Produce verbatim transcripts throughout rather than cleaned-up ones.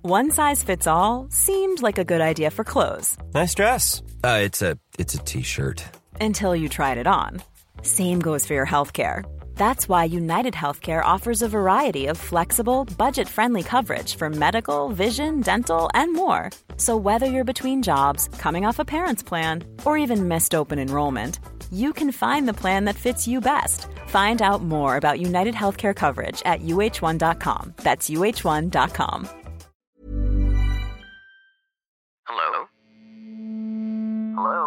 One size fits all seemed like a good idea for clothes. Nice dress. Uh, it's a it's a t-shirt. Until you tried it on. Same goes for your healthcare. That's why United Healthcare offers a variety of flexible, budget-friendly coverage for medical, vision, dental, and more. So whether you're between jobs, coming off a parent's plan, or even missed open enrollment, you can find the plan that fits you best. Find out more about United Healthcare coverage at U H one dot com. That's U H one dot com. Hello? Hello?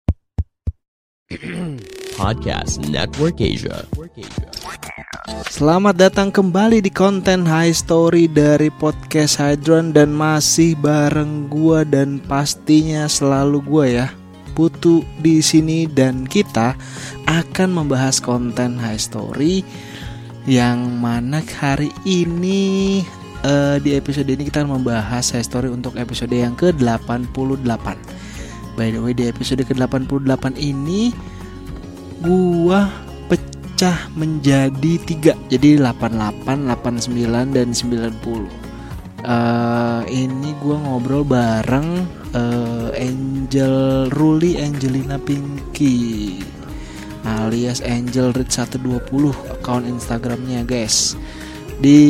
Podcast Network Asia. Selamat datang kembali di konten High Story dari Podcast Hydron. Dan masih bareng gua dan pastinya selalu gua ya, Putu di sini, dan kita akan membahas konten High Story yang mana hari ini uh, di episode ini kita akan membahas High Story untuk episode yang ke delapan puluh delapan. By the way, di episode ke delapan puluh delapan ini gua pecah menjadi tiga, jadi delapan puluh delapan, delapan puluh sembilan, dan sembilan puluh. Uh, ini gue ngobrol bareng uh, Angel Ruli Angelina Pinky alias Angel Read seratus dua puluh, akun Instagramnya guys. Di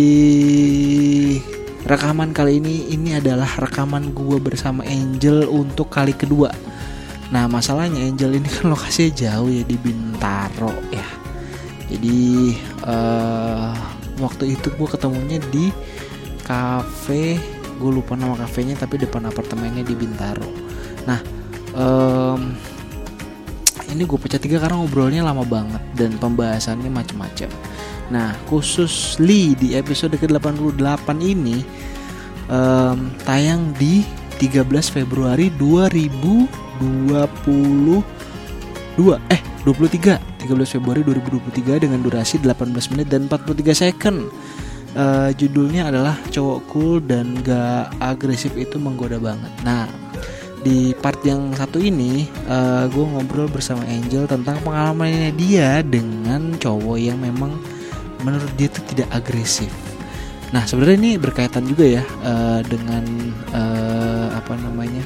rekaman kali ini, ini adalah rekaman gue bersama Angel untuk kali kedua. Nah masalahnya Angel ini kan lokasinya jauh ya, di Bintaro ya. Jadi uh, waktu itu gue ketemunya di kafe, gue lupa nama kafenya, tapi depan apartemennya di Bintaro. Nah um, ini gue pecah tiga karena ngobrolnya lama banget dan pembahasannya macam-macam. Nah khusus Li di episode ke delapan puluh delapan ini um, tayang di tiga belas Februari dua ribu dua puluh dua eh dua puluh tiga tiga belas Februari dua ribu dua puluh tiga dengan durasi delapan belas menit dan empat puluh tiga second. Uh, judulnya adalah Cowok Cool dan Gak Agresif Itu Menggoda Banget. Nah di part yang satu ini uh, gue ngobrol bersama Angel tentang pengalamannya dia dengan cowok yang memang menurut dia itu tidak agresif. Nah sebenarnya ini berkaitan juga ya uh, dengan uh, apa namanya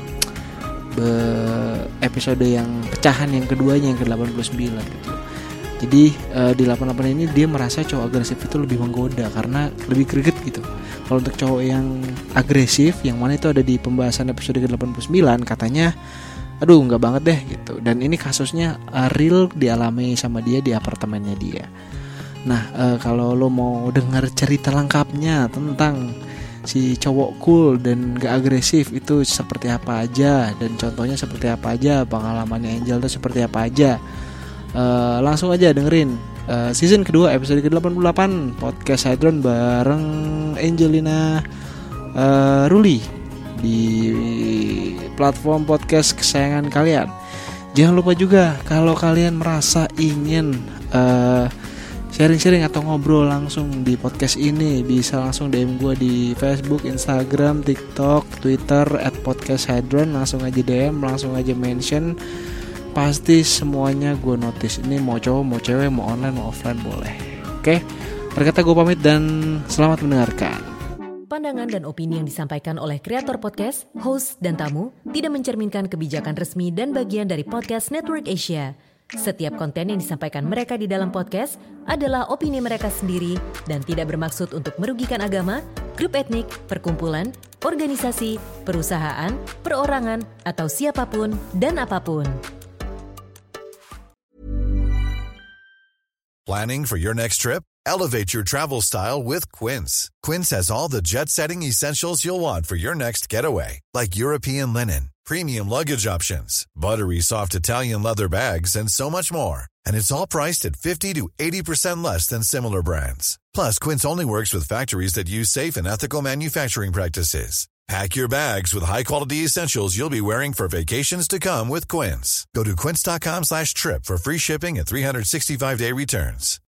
be- episode yang pecahan yang keduanya, yang ke delapan puluh sembilan gitu. Jadi uh, di delapan puluh delapan ini dia merasa cowok agresif itu lebih menggoda karena lebih greget gitu. Kalau untuk cowok yang agresif, yang mana itu ada di pembahasan episode ke delapan puluh sembilan, katanya aduh nggak banget deh gitu. Dan ini kasusnya uh, real dialami sama dia di apartemennya dia. Nah uh, kalau lo mau denger cerita lengkapnya tentang si cowok cool dan gak agresif itu seperti apa aja, dan contohnya seperti apa aja, pengalamannya Angel itu seperti apa aja, Uh, langsung aja dengerin uh, season kedua episode ke delapan puluh delapan Podcast Hydron bareng Angelina uh, Ruli di platform podcast kesayangan kalian. Jangan lupa juga kalau kalian merasa ingin uh, sharing-sharing atau ngobrol langsung di podcast ini, bisa langsung D M gue di Facebook, Instagram, TikTok, Twitter at Podcast Hydron. Langsung aja D M, langsung aja mention. Pasti semuanya gue notice. Ini mau cowok, mau cewek, mau online, mau offline boleh. Oke, berkata gue pamit dan selamat mendengarkan. Pandangan dan opini yang disampaikan oleh kreator podcast, host, dan tamu tidak mencerminkan kebijakan resmi dan bagian dari Podcast Network Asia. Setiap konten yang disampaikan mereka di dalam podcast adalah opini mereka sendiri dan tidak bermaksud untuk merugikan agama, grup etnik, perkumpulan, organisasi, perusahaan, perorangan, atau siapapun dan apapun. Planning for your next trip? Elevate your travel style with Quince. Quince has all the jet-setting essentials you'll want for your next getaway, like European linen, premium luggage options, buttery soft Italian leather bags, and so much more. And it's all priced at fifty to eighty percent less than similar brands. Plus, Quince only works with factories that use safe and ethical manufacturing practices. Pack your bags with high-quality essentials you'll be wearing for vacations to come with Quince. Go to quince.com slash trip for free shipping and three sixty-five day returns.